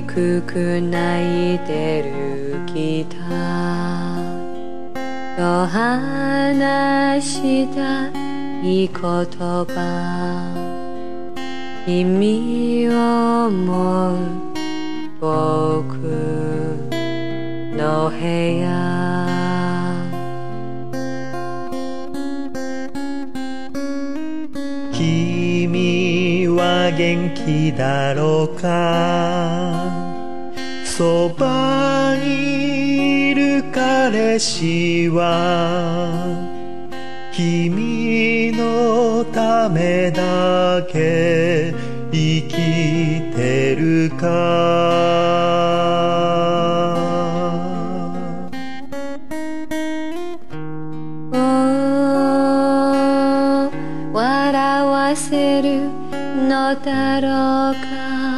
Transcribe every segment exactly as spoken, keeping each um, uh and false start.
くく泣いてるギターと話したい言葉、君を思う僕の部屋、 君は元気だろうか、そばにいる彼氏は君のためだけ生きてるか。 笑わせるのだろうか、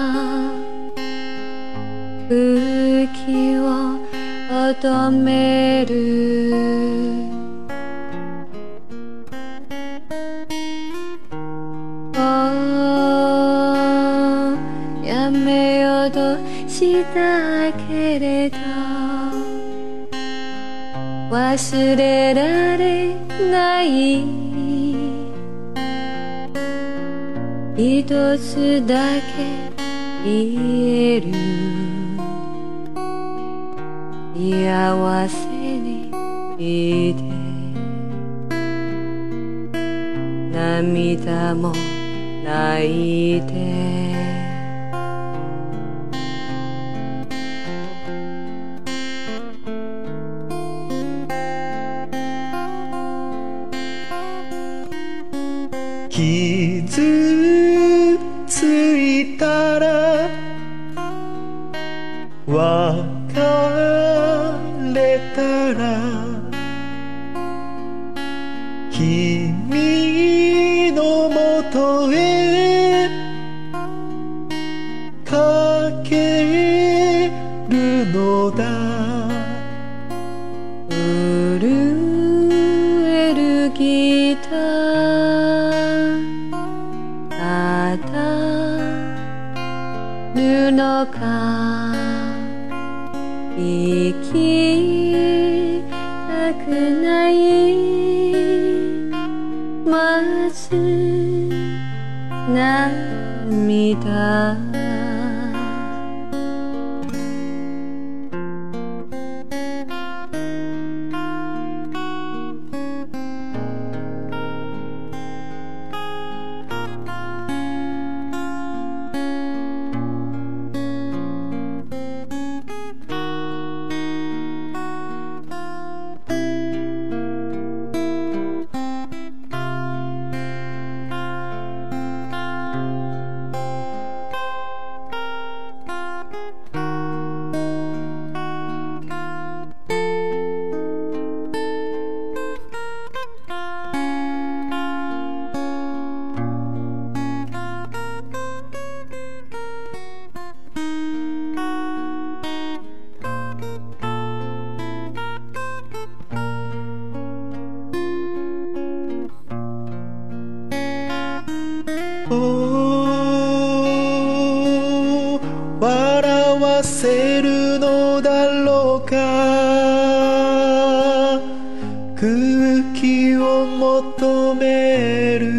空気を乙める、やめようとしたけれど忘れられない一つだけ言える、幸せにいて涙も泣いて、 傷ついたら別れたら君のもとへかけるのだ、 震えるギター当たるのか、生きたくないまず涙、 笑わせるのだろうか、空気を求める、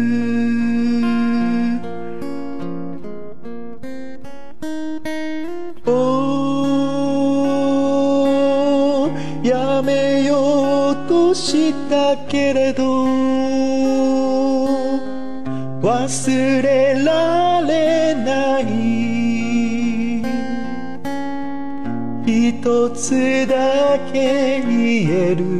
おーやめようとしたけれど忘れられない一つだけ言える、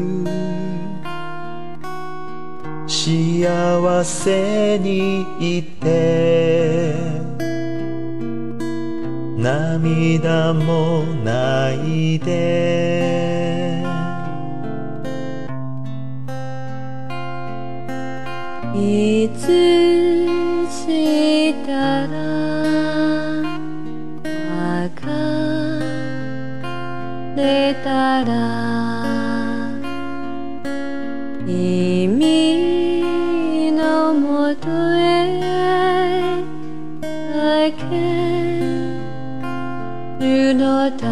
幸せにいて涙もないで、 いつしたら別れたら君のもとへだけるのだ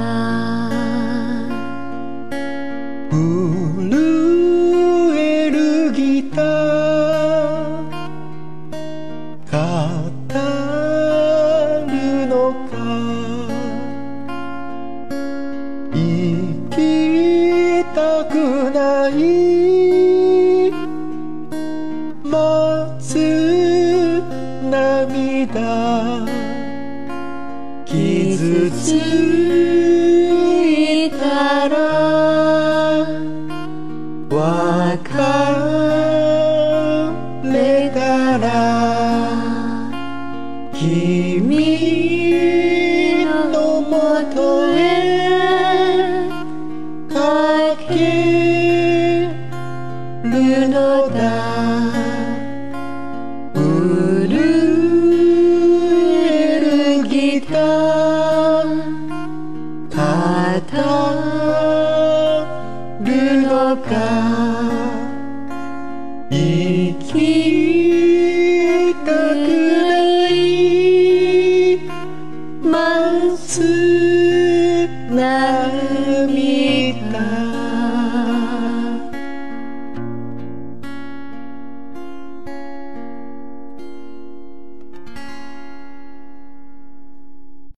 震えるギター語るのか生きたくない待つ涙傷ついたら別れたら君のもとへ駆けるのだ震えるギター語るのか生きたくない待つ涙